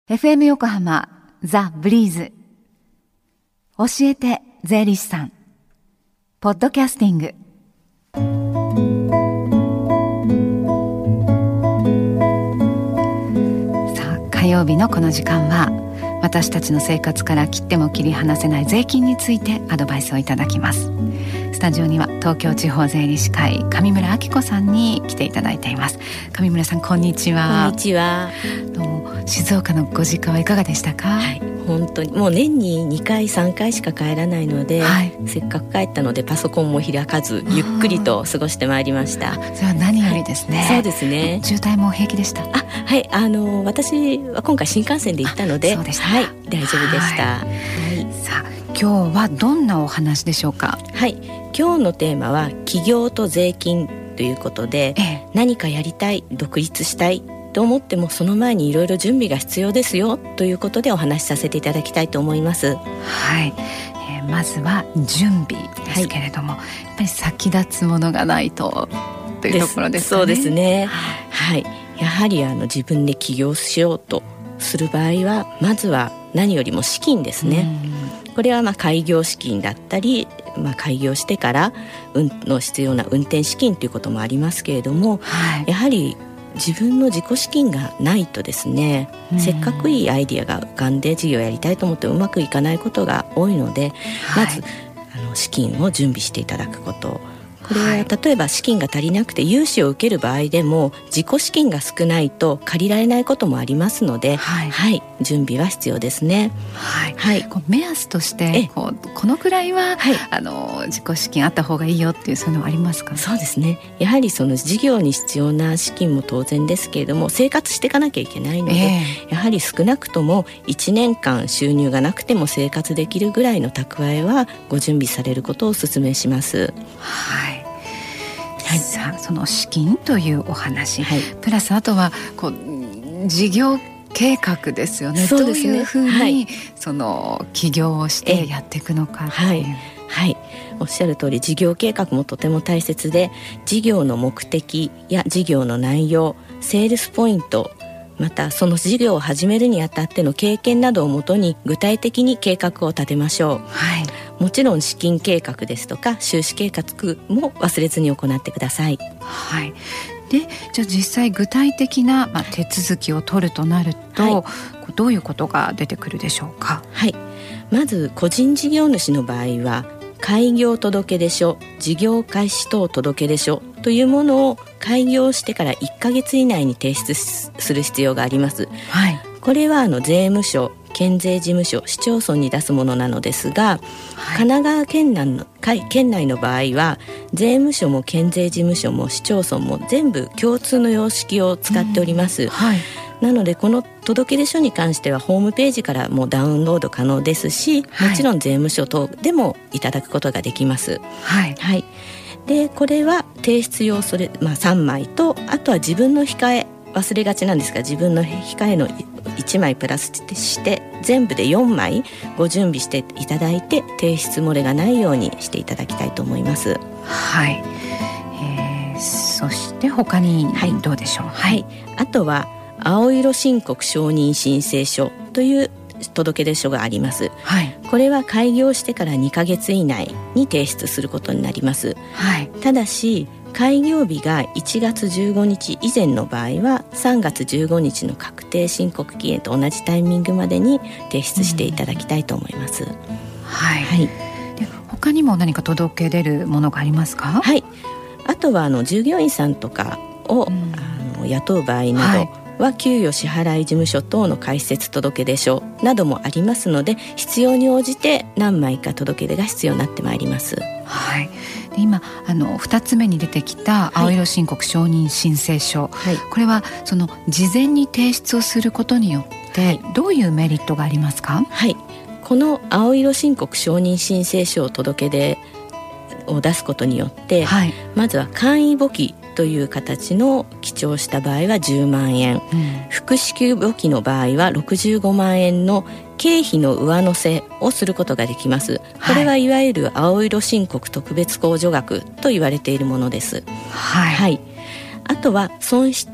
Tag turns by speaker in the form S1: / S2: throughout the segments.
S1: FM 横浜ザ・ブリーズ教えて税理士さんポッドキャスティング。さあ、火曜日のこの時間は私たちの生活から切っても切り離せない税金についてアドバイスをいただきます。スタジオには東京地方税理士会上村明子さんに来ていただいています。上村さん、こんにちは。
S2: こんにちは。
S1: どうも。静岡のご実家はいかがでしたか？
S2: はい、本当にもう年に2回3回しか帰らないので、
S1: はい、
S2: せっかく帰ったのでパソコンも開かずゆっくりと過ごしてまいりました。
S1: それは何よりですね。
S2: そうですね。
S1: 渋滞も平気でした？
S2: はい、私は今回新幹線で行ったので、
S1: そうでした。
S2: はい、大丈夫でした。
S1: はい、さあ、今日はどんなお話でしょうか？
S2: はい、今日のテーマは起業と税金ということで、何かやりたい、独立したいと思ってもその前にいろいろ準備が必要ですよということでお話しさせていただきたいと思います。
S1: はい、まずは準備ですけれども、やっぱり先立つものがないとというところですかね。
S2: そうですね。はい、やはり自分で起業しようとする場合はまずは何よりも資金ですね。これは開業資金だったり、開業してからの必要な運転資金ということもありますけれども、やはり自分の自己資金がないとですね、せっかくいいアイディアが浮かんで事業をやりたいと思ってうまくいかないことが多いので、まず資金を準備していただくこと。これは例えば資金が足りなくて融資を受ける場合でも自己資金が少ないと借りられないこともありますので、準備は必要ですね。
S1: 目安としてこのくらいは、自己資金あった方がいいよっていう、そういうのはありますか？
S2: そうですね。やはりその事業に必要な資金も当然ですけれども、生活していかなきゃいけないので、やはり少なくとも1年間収入がなくても生活できるぐらいの蓄えはご準備されることをお勧めします。
S1: さあ、その資金というお話、プラスあとは事業計画ですよね。どういうふうに、その起業をしてやっていくのかっていう。
S2: おっしゃる通り事業計画もとても大切で、事業の目的や事業の内容、セールスポイント、またその事業を始めるにあたっての経験などをもとに具体的に計画を立てましょう。もちろん資金計画ですとか収支計画も忘れずに行ってください。
S1: で、じゃあ実際具体的な、手続きを取るとなると、どういうことが出てくるでしょうか？
S2: まず個人事業主の場合は開業届出書、事業開始等届出書というものを開業してから1ヶ月以内に提出する必要があります。これは税務署、県税事務所、市町村に出すものなのですが、神奈川県内の場合は税務署も県税事務所も市町村も全部共通の様式を使っております。なのでこの届出書に関してはホームページからもダウンロード可能ですし、もちろん税務署等でもいただくことができます。で、これは提出用3枚と、あとは自分の控え、忘れがちなんですが自分の控えの1枚プラスして全部で4枚ご準備していただいて、提出漏れがないようにしていただきたいと思います。
S1: そして他にどうでしょう？
S2: あとは青色申告承認申請書という届出書があります。これは開業してから2ヶ月以内に提出することになります。ただし開業日が1月15日以前の場合は3月15日の確定申告期限と同じタイミングまでに提出していただきたいと思います。で、
S1: 他にも何か届け出るものがありますか？
S2: あとは従業員さんとかを、雇う場合などは給与支払い事務所等の開設届出書などもありますので、必要に応じて何枚か届け出が必要になってまいります。
S1: で、今2つ目に出てきた青色申告承認申請書、これはその事前に提出をすることによってどういうメリットがありますか？
S2: この青色申告承認申請書を届け出を出すことによって、まずは簡易簿記という形の記帳した場合は10万円、複式簿記の場合は65万円の経費の上乗せをすることができます。これはいわゆる青色申告特別控除額と言われているものです。あとは損失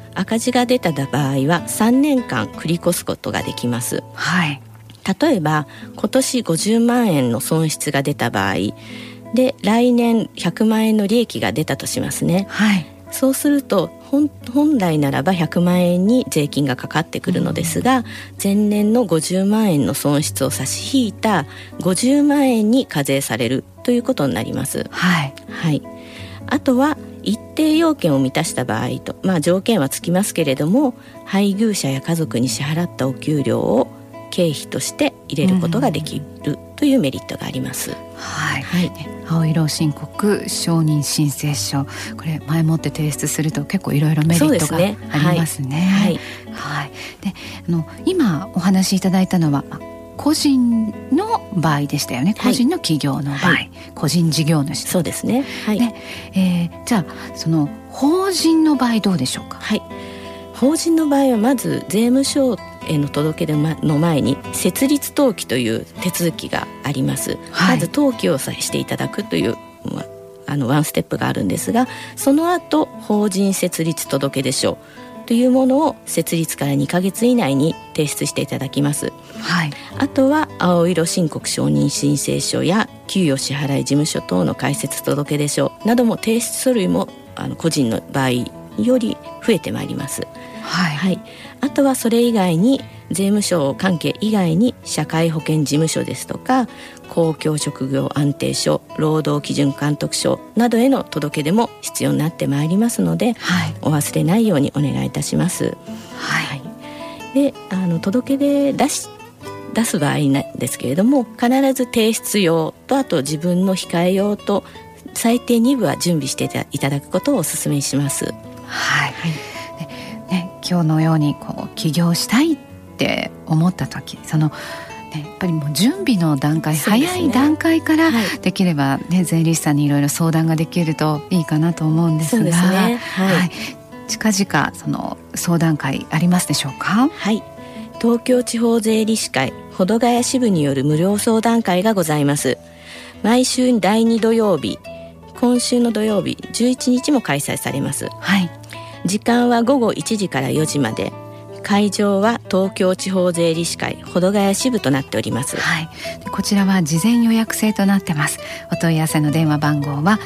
S2: 赤字が出た場合は3年間繰り越すことができます。
S1: はい、
S2: 例えば今年50万円の損失が出た場合で、来年100万円の利益が出たとしますね。
S1: はい、
S2: そうすると本来ならば100万円に税金がかかってくるのですが、前年の50万円の損失を差し引いた50万円に課税されるということになります。
S1: はい
S2: はい、あとは一定要件を満たした場合と、条件はつきますけれども、配偶者や家族に支払ったお給料を経費として入れることができるというメリットがあります。
S1: はい
S2: はい、
S1: 青色申告承認申請書、これ前もって提出すると結構いろいろメリットがありますね。はいはい、で今お話しいただいたのは個人の場合でしたよね。個人の企業の場合、はい、個人事業主。
S2: そうですね。はい、
S1: で、じゃあその法人の場合どうでしょうか。
S2: はい、法人の場合はまず税務署への届け出の前に設立登記という手続きがあります。はい、まず登記をしていただくというワンステップがあるんですが、その後法人設立届出書というものを設立から2ヶ月以内に提出していただきます。
S1: はい、
S2: あとは青色申告承認申請書や給与支払い事務所等の開設届出書なども提出書類も個人の場合より増えてまいります。
S1: はい
S2: はい、あとはそれ以外に税務署関係以外に社会保険事務所ですとか公共職業安定所、労働基準監督署などへの届け出も必要になってまいりますので、はい、お忘れないようにお願いいたします。
S1: はい
S2: はい、で届け出出す場合なんですけれども、必ず提出用とあと自分の控え用と最低2部は準備していただくことをお勧めします。
S1: はい、はい今日のように起業したいって思った時、やっぱりもう準備の段階、早い段階からできれば、税理士さんにいろいろ相談ができるといいかなと思うんですが、そうですね。はいはい、近々その相談会ありますでしょうか。
S2: はい、東京地方税理士会保土ヶ谷支部による無料相談会がございます。毎週第2土曜日、今週の土曜日11日も開催されます。
S1: はい、
S2: 時間は午後1時から4時まで、会場は東京地方税理士会保土ヶ谷支部となっております。
S1: はい、でこちらは事前予約制となってます。お問い合わせの電話番号は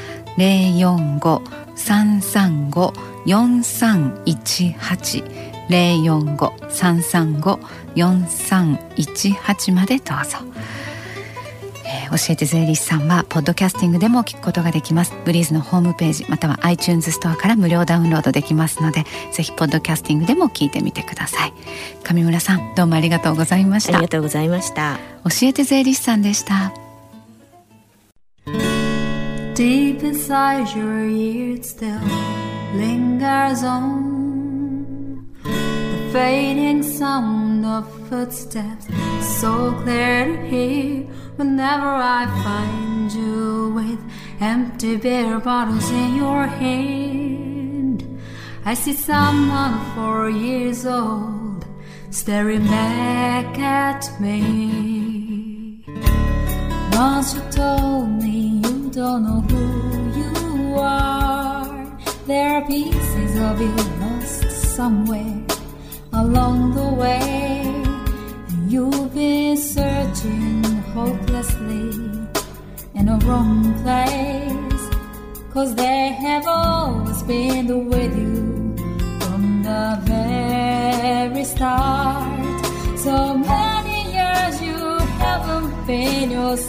S1: 045-335-4318 045-335-4318 までどうぞ。教えて税理士さんはポッドキャスティングでも聞くことができます。ブリーズのホームページまたは iTunes ストアから無料ダウンロードできますので、ぜひポッドキャスティングでも聞いてみてください。上村さん、どうもありがとうございました。
S2: ありがとうございました。
S1: 教えて税理士さんでした。
S3: Deep inside your ear it still lingers on the fading sound of footsteps, so clear to hear whenever I find you with empty beer bottles in your hand. I see someone 4 years old staring back at me. Once you told me you don't know who you are, there are pieces of you lost somewhere along the way. You've been searching hopelessly in a wrong place, 'cause they have always been with you from the very start. So many years you haven't been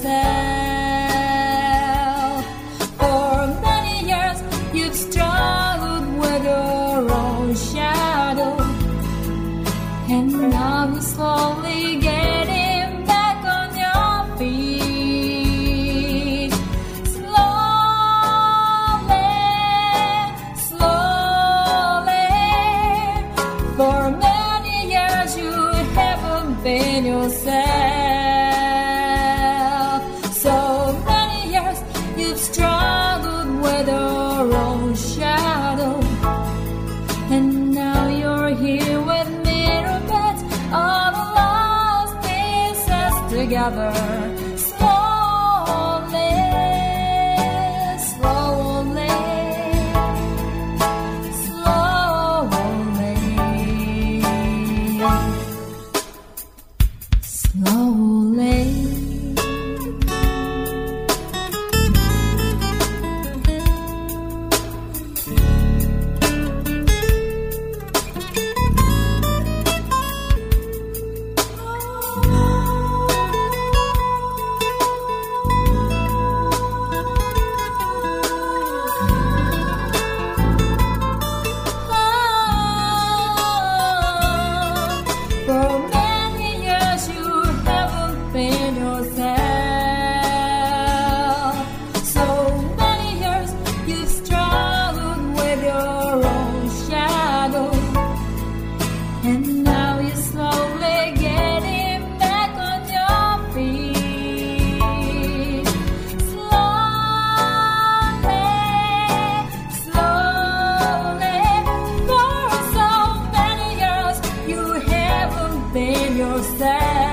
S3: yourself. For many years you've struggled with your own shadow, and now you're slowly getting back on your feet. Slowly, slowly. For many years you haven't been yourself. So many years you've struggled with your own shadow, and now you're here with all the lost pieces together. Slowly, slowly, slowly. sad.